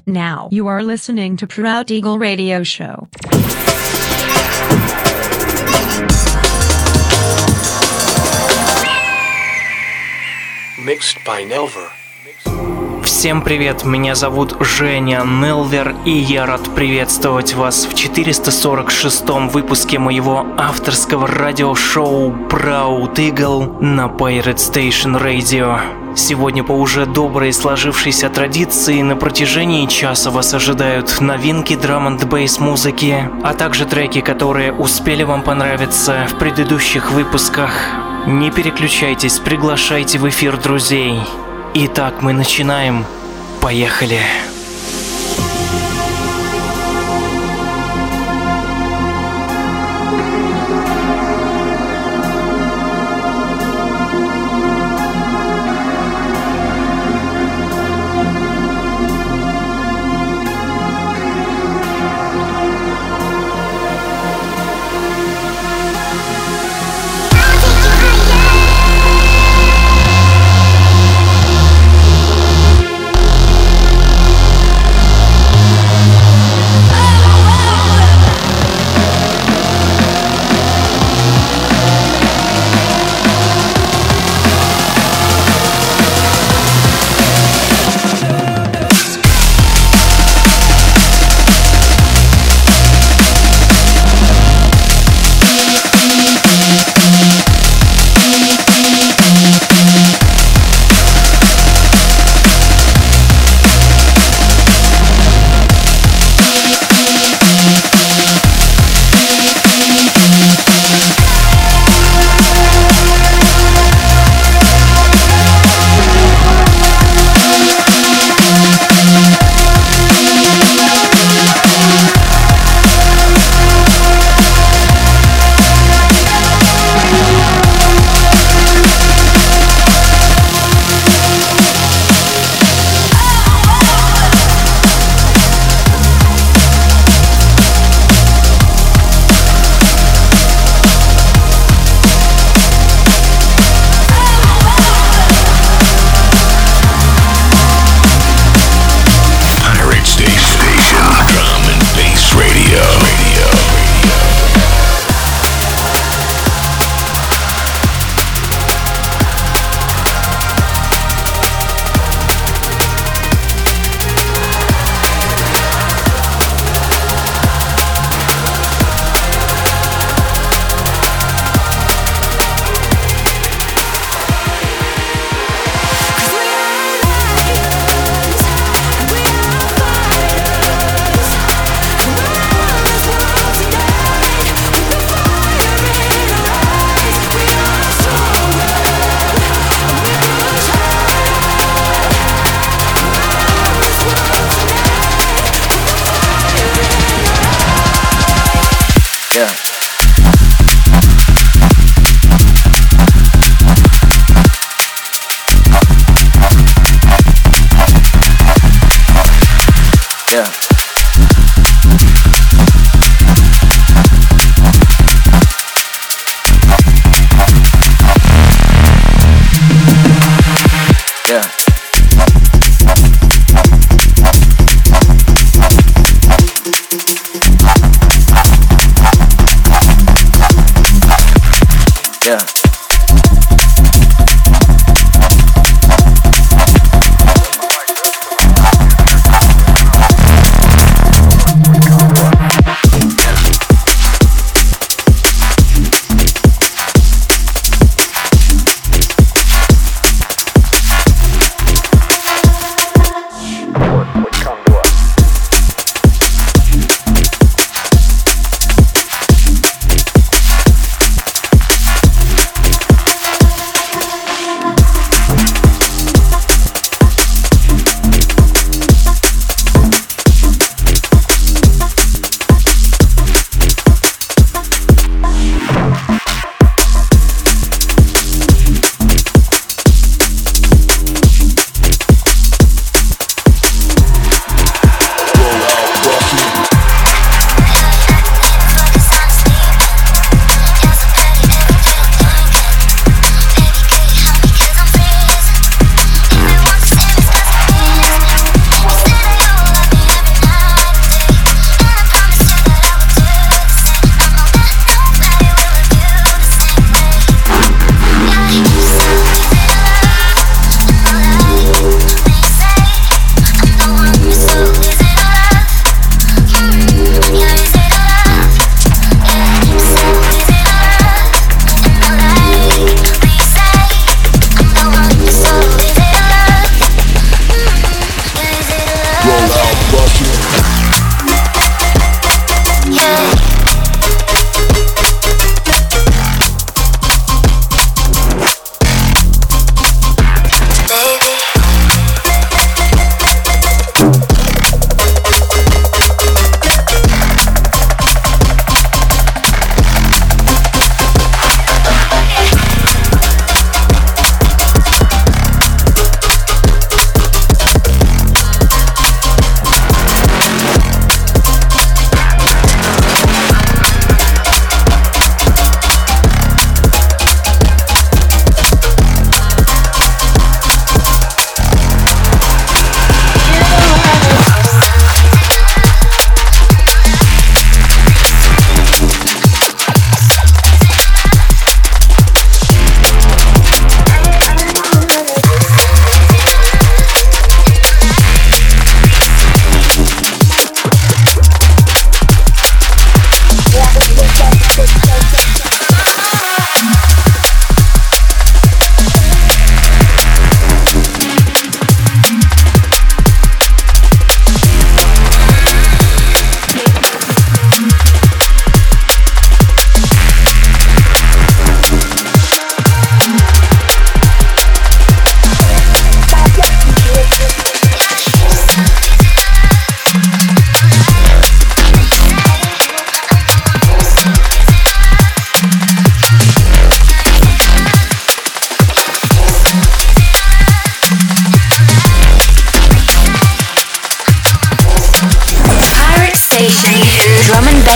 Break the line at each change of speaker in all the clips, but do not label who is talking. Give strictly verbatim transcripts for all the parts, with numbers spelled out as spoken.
Now you are listening to Proud Eagle Radio Show.
Mixed by Nelver.
Всем привет, меня зовут Женя Нелвер, и я рад приветствовать вас в четыреста сорок шестом выпуске моего авторского радиошоу Proud Eagle на Pirate Station Radio. Сегодня по уже доброй сложившейся традиции на протяжении часа вас ожидают новинки драм-энд-бейс музыки, а также треки, которые успели вам понравиться в предыдущих выпусках. Не переключайтесь, приглашайте в эфир друзей. Итак, мы начинаем. Поехали!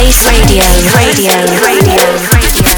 Space Radio, Radio, Radio, Radio.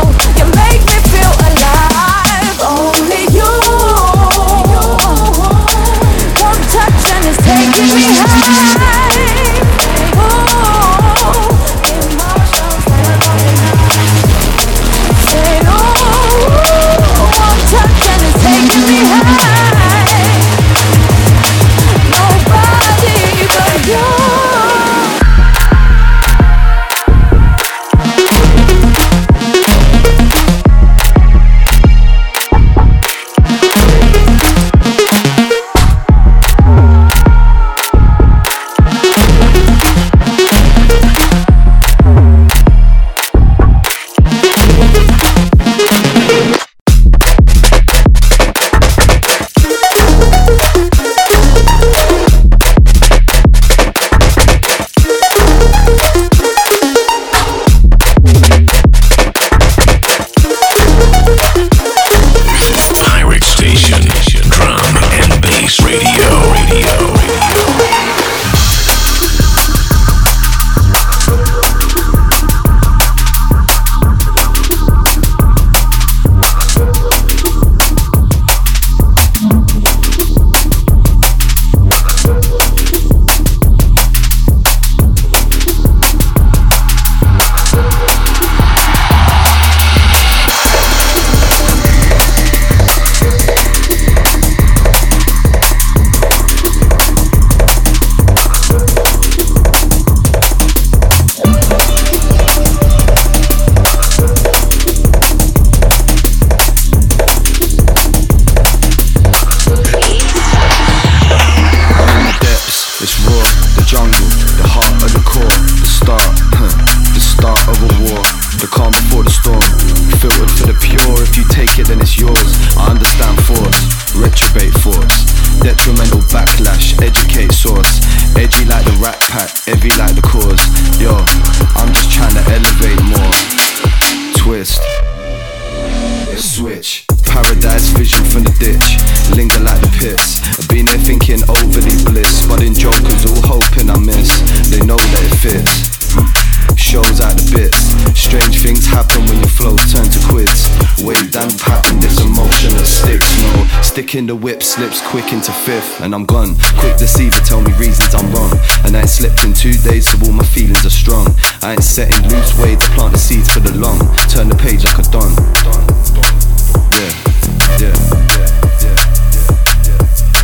Oh, backlash, educate source. Edgy like the Rat Pack, heavy like the cause. Yo, I'm just trying to elevate more. Twist, switch. Paradise vision from the ditch, linger like the pits. I've been there thinking overly bliss, budding jokers all hoping I miss. They know that it fits. Shows out the bits. Strange things happen when your flows turn to quids. Wave down pattern, this emotion that sticks. No, stick in the whip, slips quick into fifth, and I'm gone. Quick deceiver, tell me reasons I'm wrong. And I ain't slept in two days, so all my feelings are strong. I ain't setting loose way to plant the seeds for the long. Turn the page like a don. Yeah, yeah, yeah, yeah, yeah,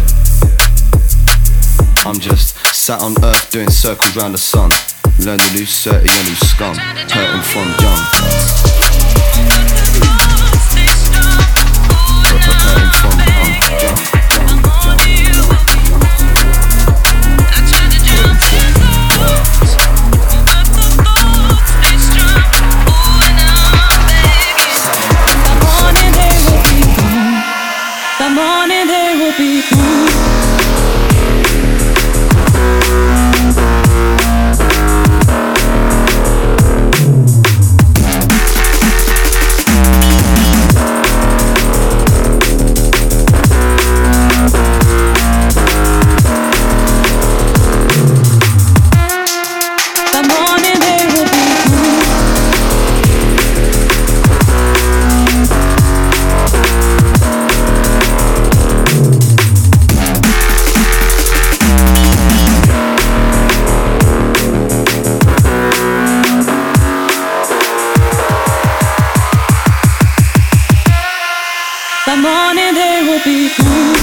yeah. I'm just sat on earth doing circles round the sun. Learn to lose thirty and lose scum. Hurting from young. Hurting from young, young,
The morning they will be gone. The morning they will be gone.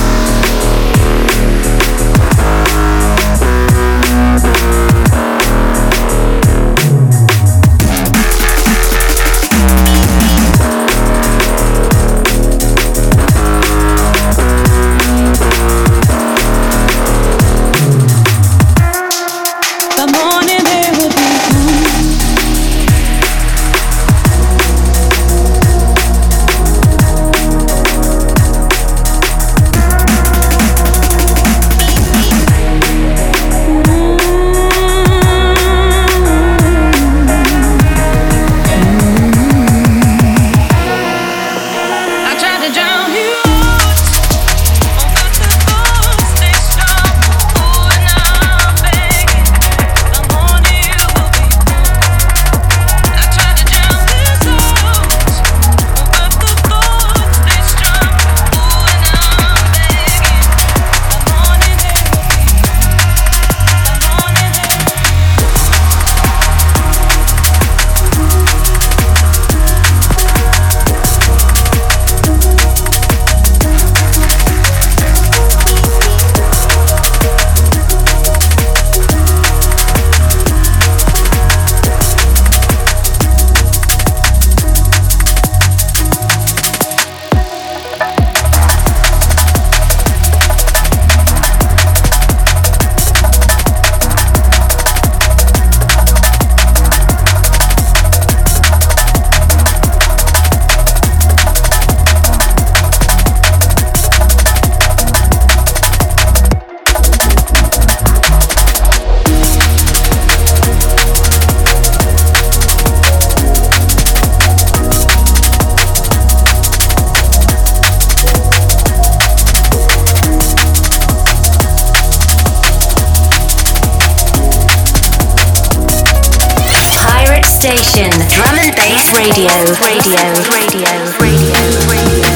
Station, Drum and Bass Radio, Radio, Radio, Radio, Radio.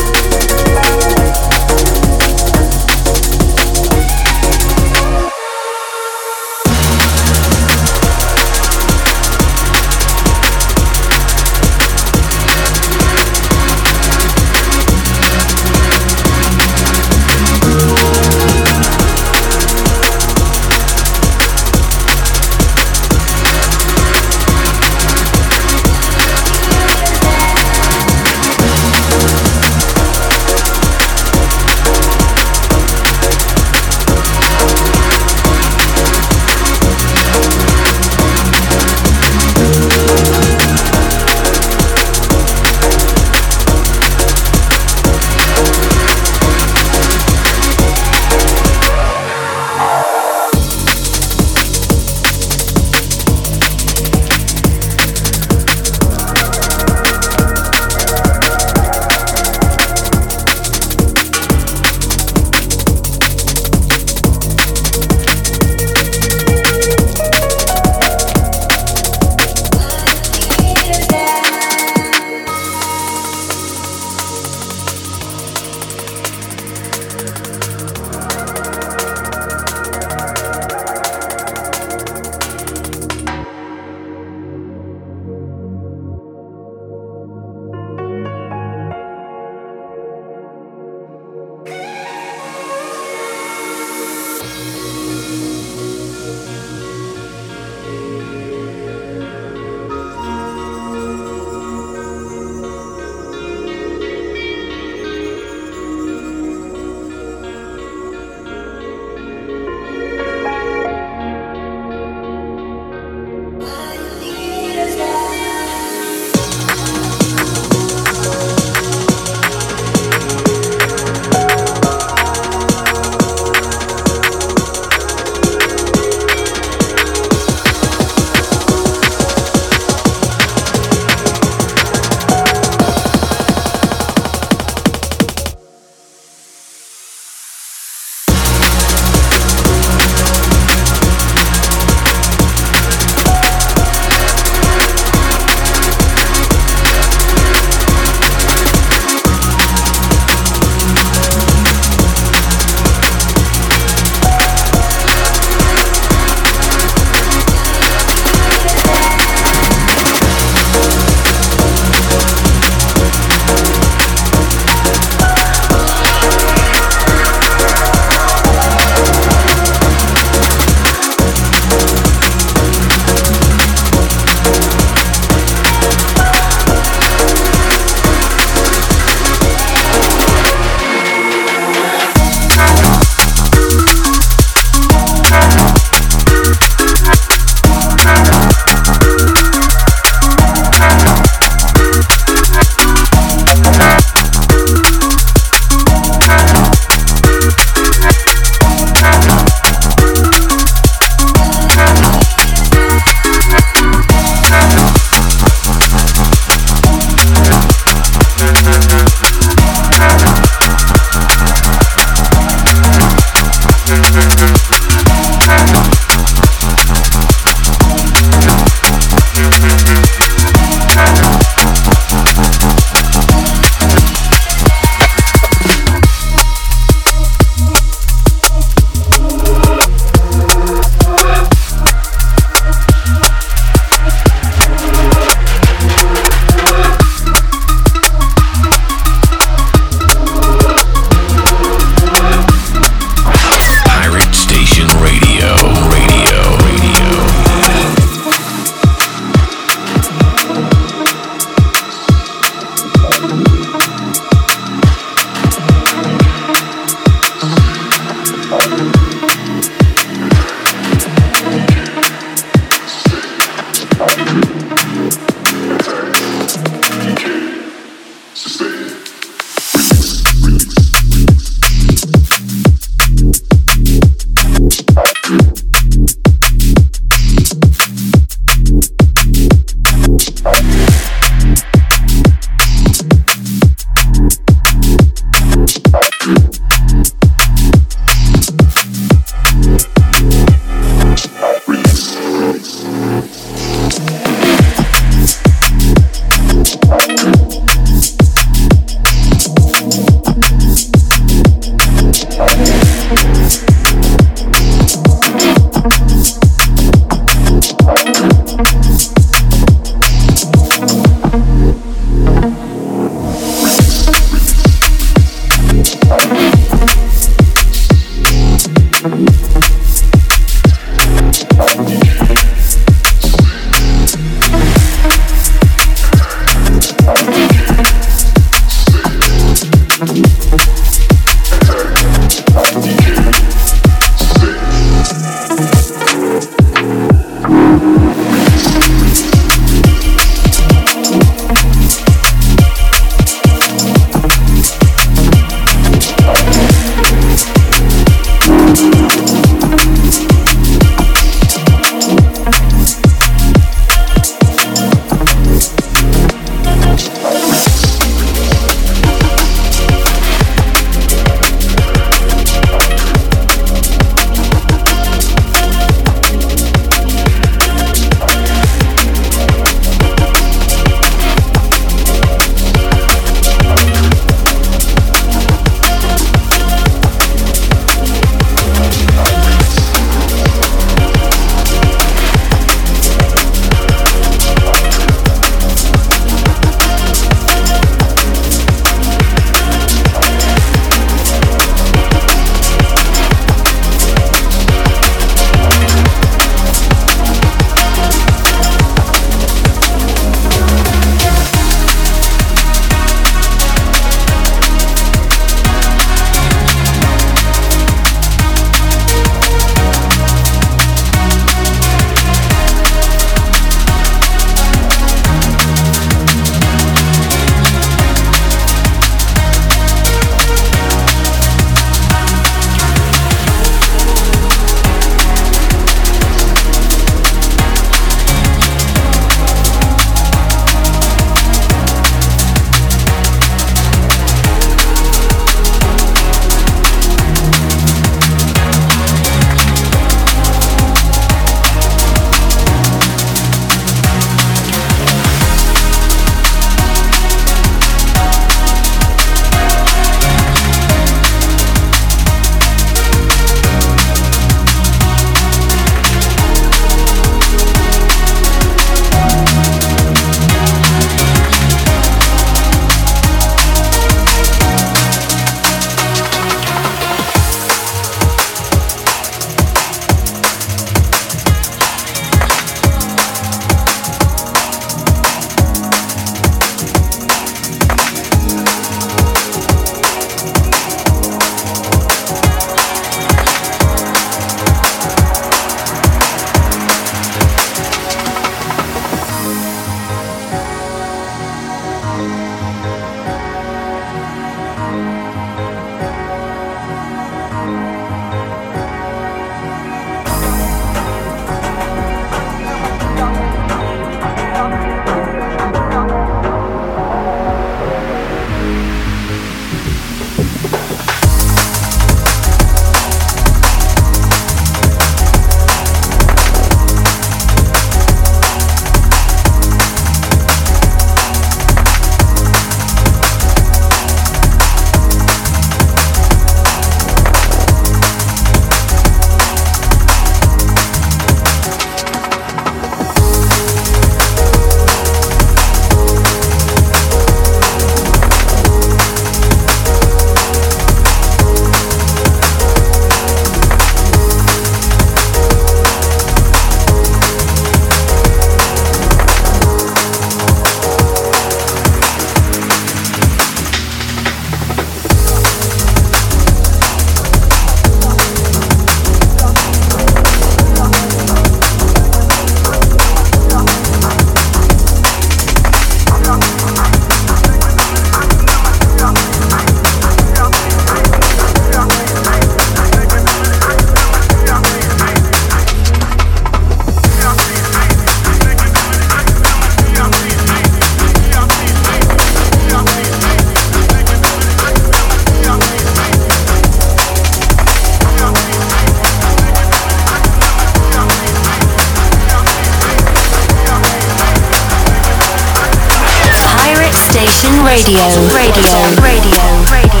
Radio, radio, radio, radio,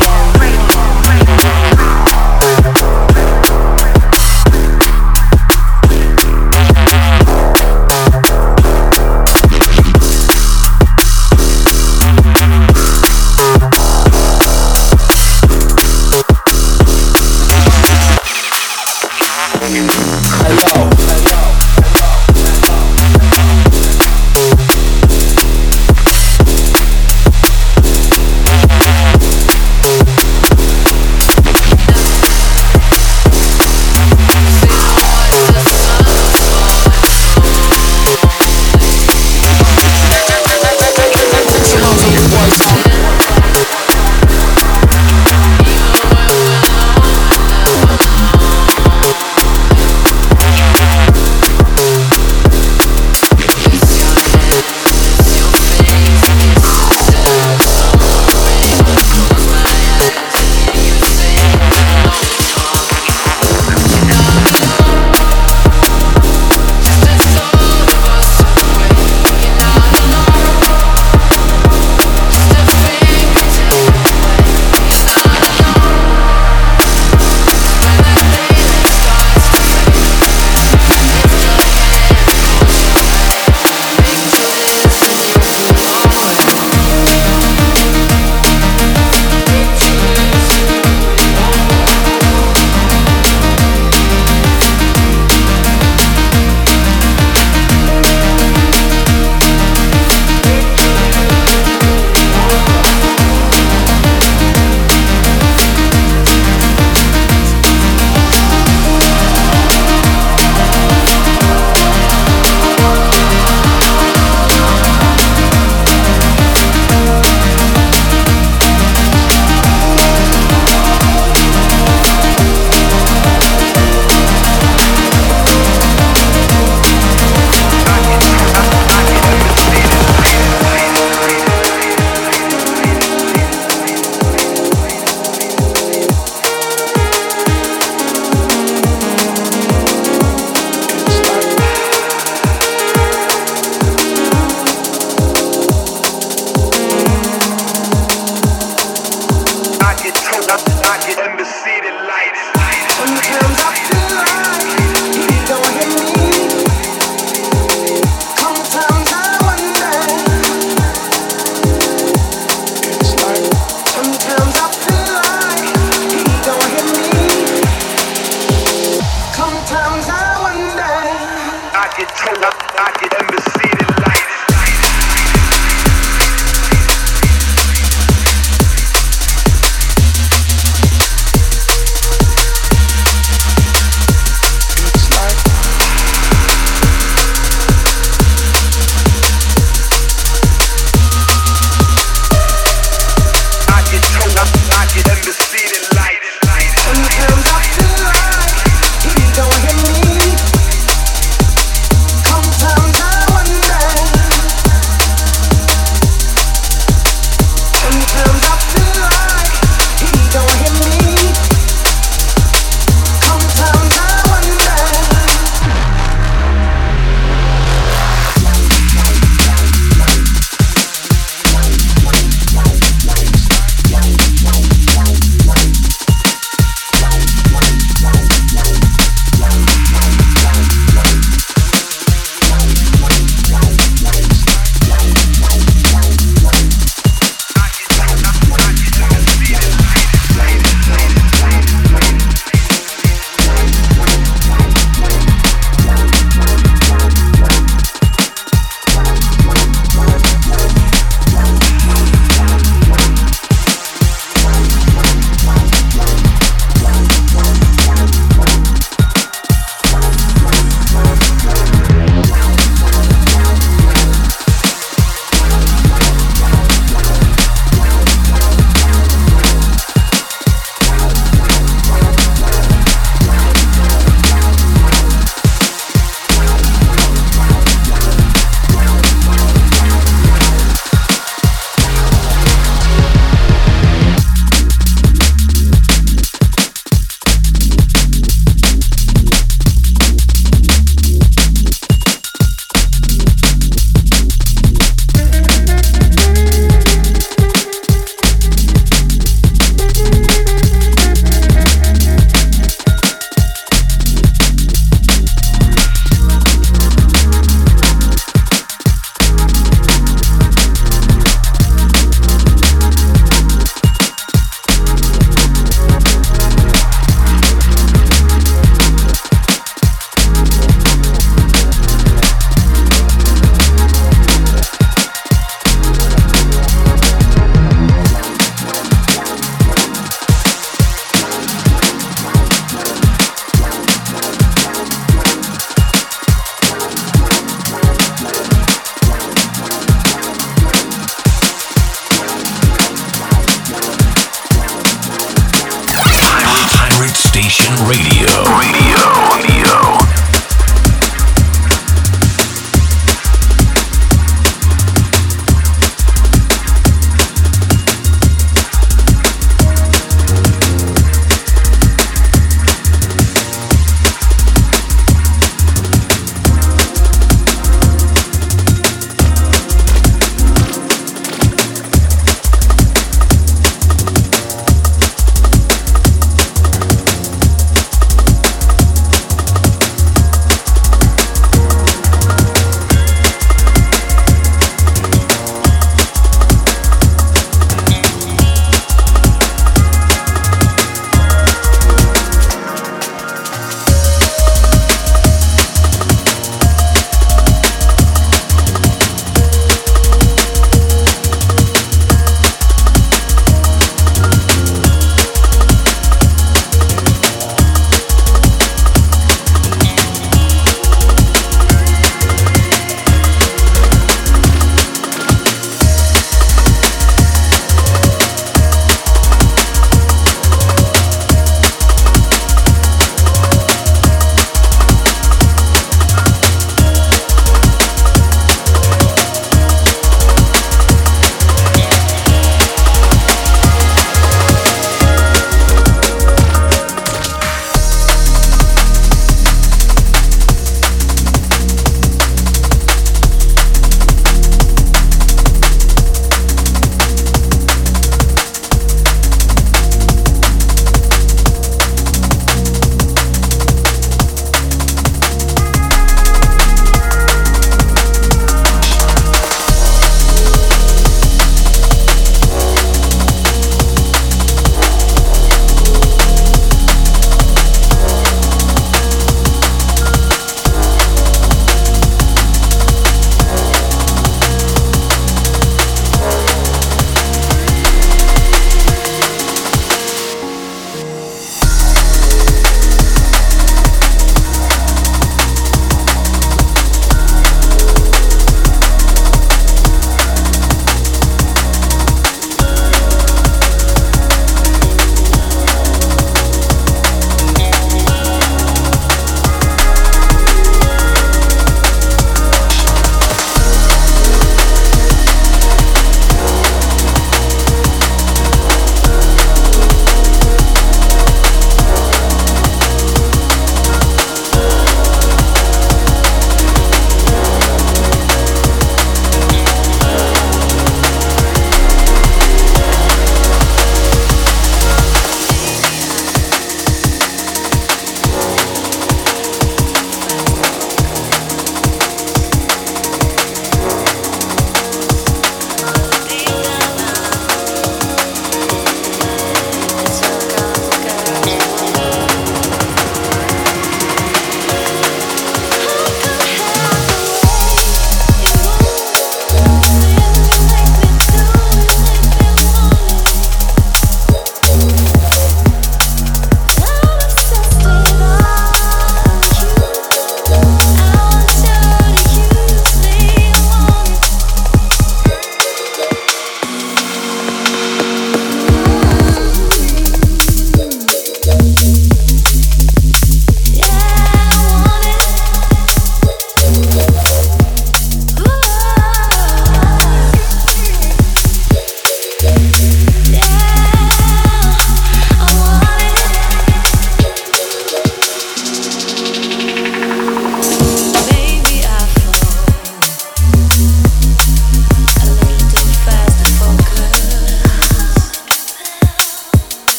Station Radio. Radio. Radio.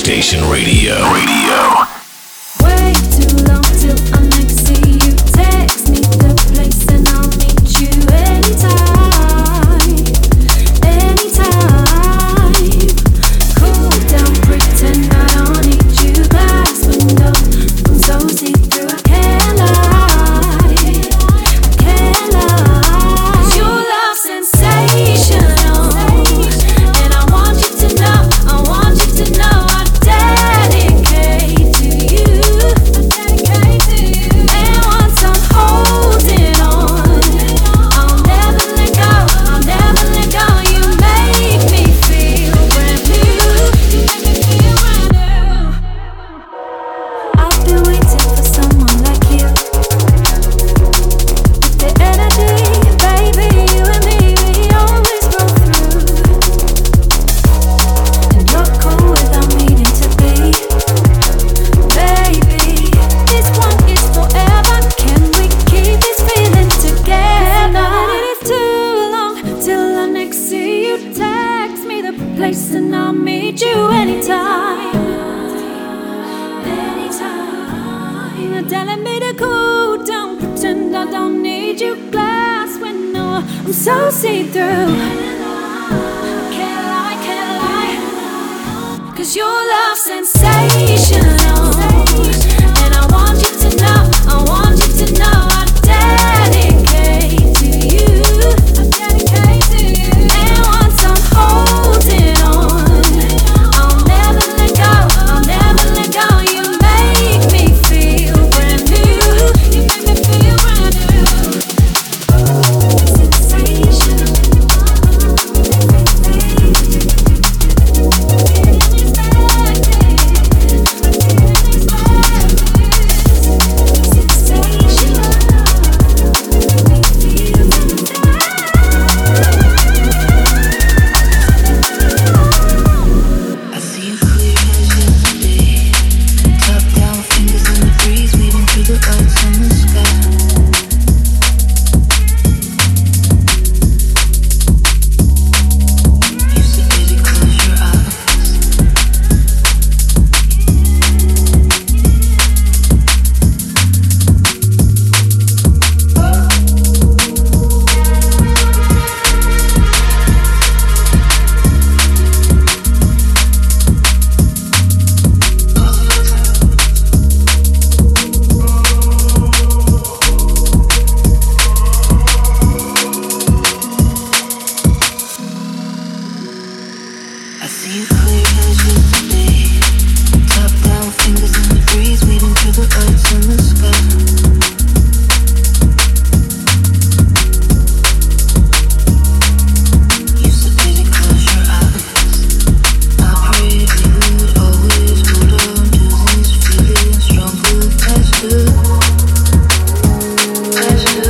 Station Radio. Radio.
Way too long till I next see you. Text me the place and I'll meet you anytime, anytime. Cool down, pretend I don't need you. Glass window, I'm so see-through. I can't lie, I can't lie. 'Cause your love's sensational, and I want you to know, I want you to know I dedicate to you, I dedicate to you. And once I'm holding on, I'll never let go, I'll never let go. You make me feel brand new, you make me feel brand new. I've been waiting for someone like you, with the energy, baby, you and me, we always roll through. And you're cool without needing to be. Baby, this one is forever. Can we keep this feeling together? It is too long till I next see you. Text me the place and I'll meet you anytime, anytime. You're telling me to cool down, pretend I don't need you. Glass window, I'm so see-through. Can't lie, can't lie. 'Cause your love's sensational, and I want you to know, I want you to know I dedicate to you, I dedicate to you. And once I'm holding on, I'll never let go, I'll never let go. You make me feel brand new, you make me feel brand new. Sensational.
I see you clear as yesterday. Top down, fingers in the breeze, weaving through the lights in the sky. You said, baby, close your eyes. I see you clear as yesterday. Top down, fingers in the breeze, weaving through the lights in the sky. You said, baby, close your eyes. I prayed you would always hold on to these feelings, stronger faster, faster.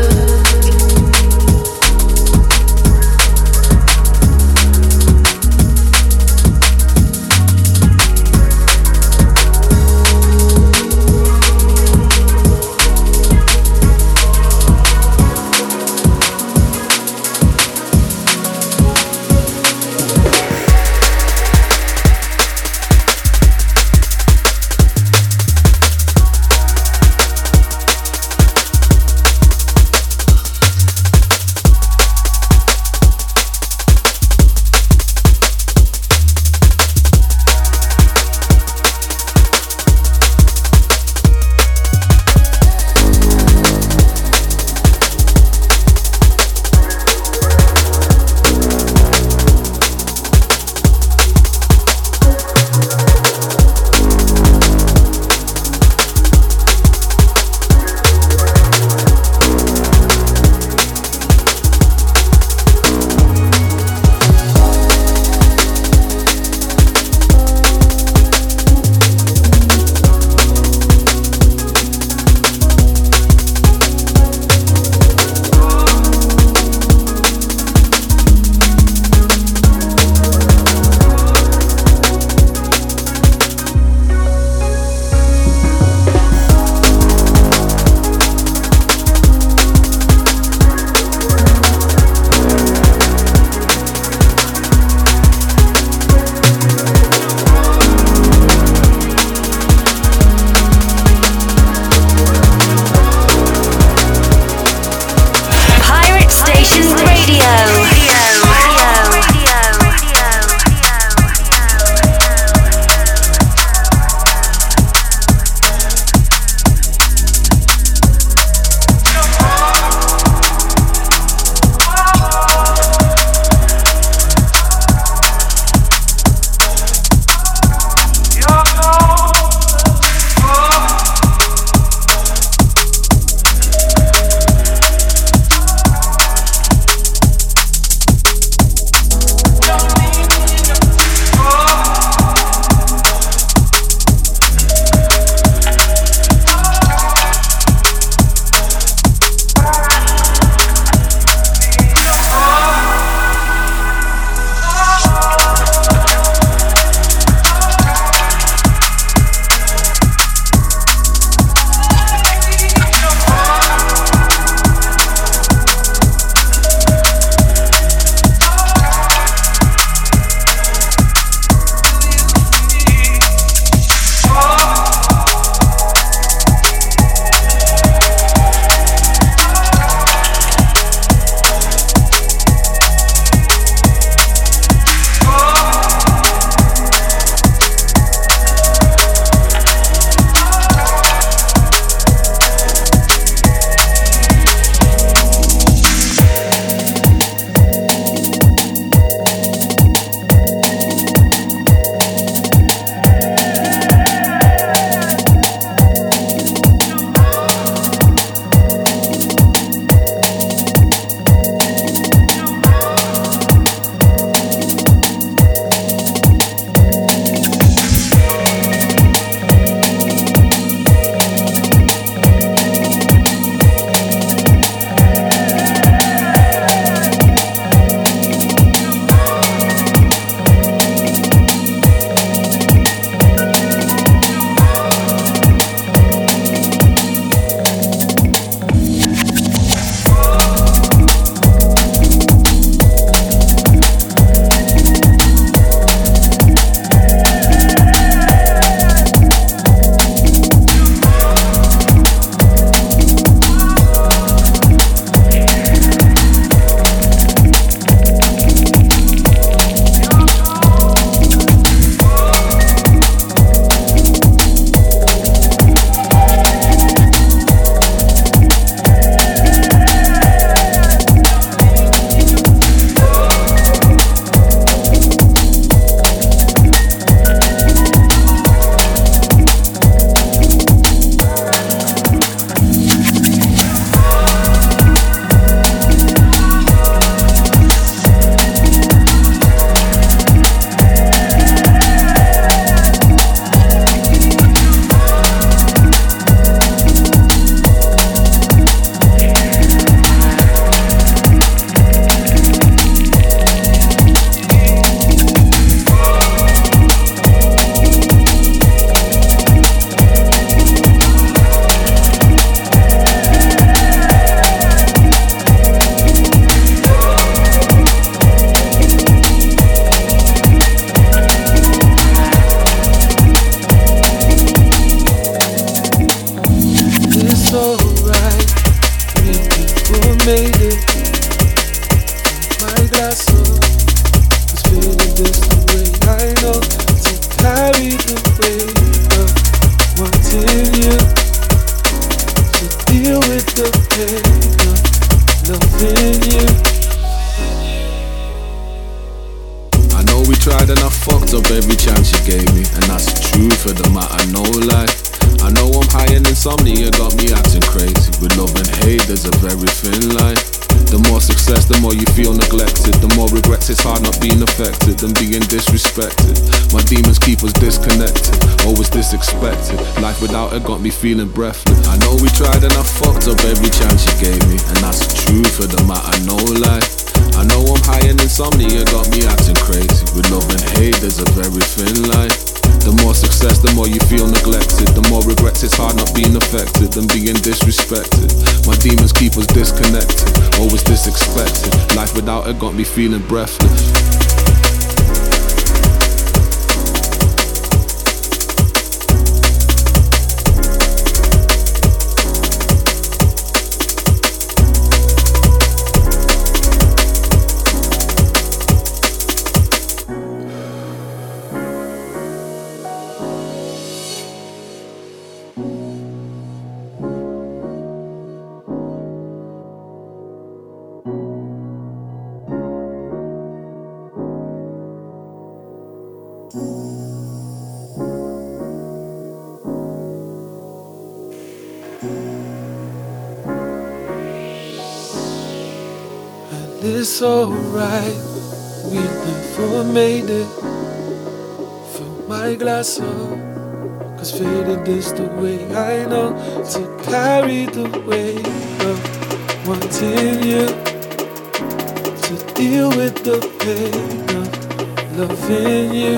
tried and I fucked up every chance you gave me, and that's the truth of the matter, no lie. I know I'm high and insomnia got me acting crazy. With love and hate there's a very thin line. The more success, the more you feel neglected. The more regrets, it's hard not being affected than being disrespected. My demons keep us disconnected, always disexpected. Life without it got me feeling breathless. I know we tried and I fucked up every chance you gave me, and that's the truth of the matter, no lie. I know I'm high and insomnia got me acting crazy. With love and hate there's a very thin line. The more success, the more you feel neglected. The more regrets, it's hard not being affected than being disrespected. My demons keep us disconnected, always disexpected. Life without it got me feeling breathless.
It's alright, we never made it. Fill my glass up, cause faded is the way I know to carry the weight of wanting you, to deal with the pain of loving you.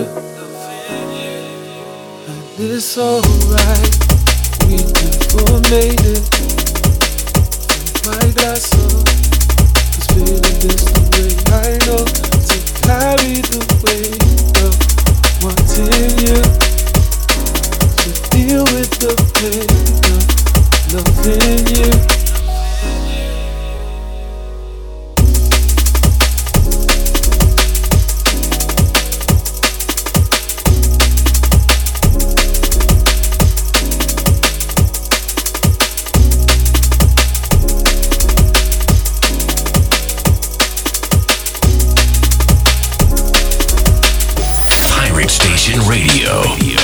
And it's alright, we never made it. Fill my glass up, feeling this the way I know to carry the weight of wanting you, to deal with the pain of loving you.
Radio. Radio.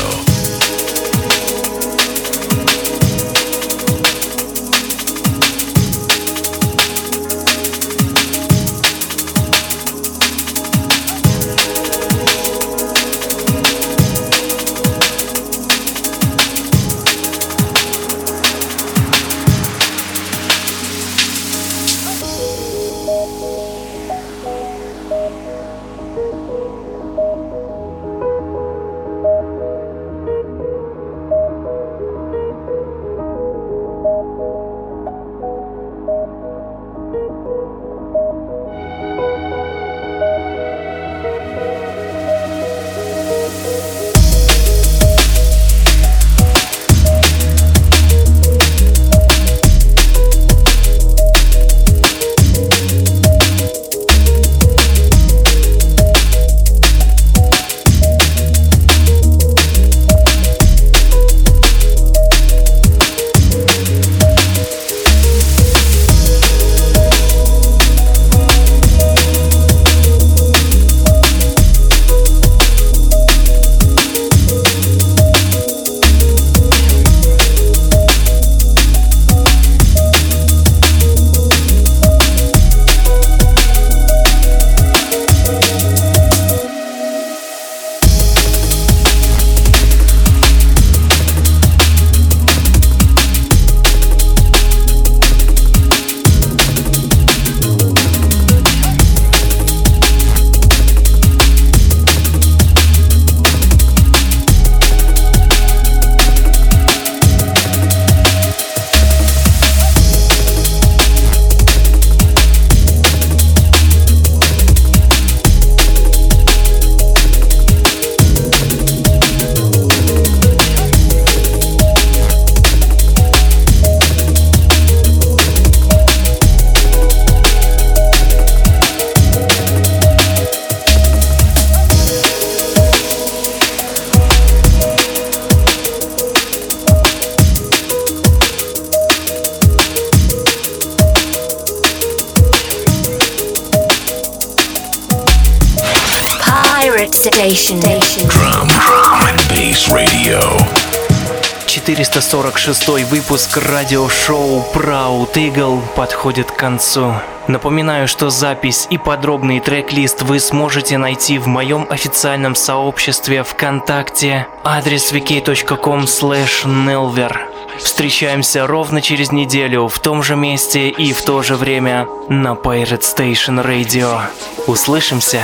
Station.
Drum, drum and bass radio.
четыреста сорок шестой выпуск радиошоу Proud Eagle подходит к концу. Напоминаю, что запись и подробный трек-лист вы сможете найти в моем официальном сообществе ВКонтакте, адрес ви кей точка ком слэш нелвер. Встречаемся ровно через неделю в том же месте и в то же время на Pirate Station Radio. Услышимся!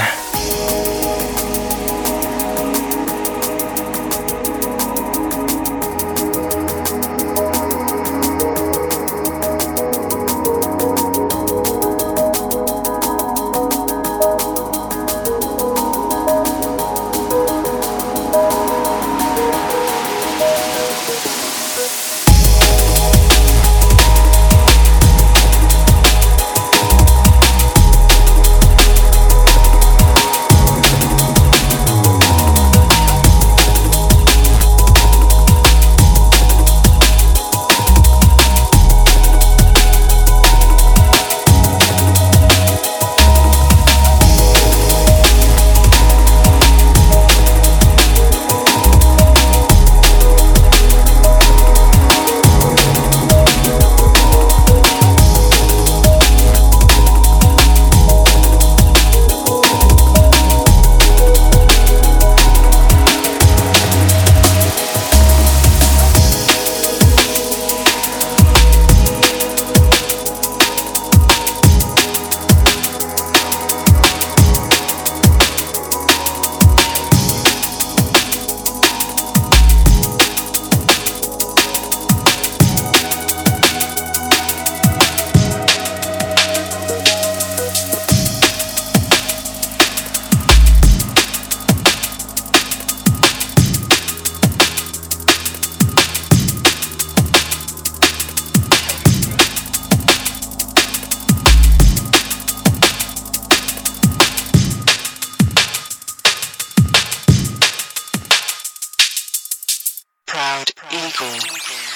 Proud Eagle.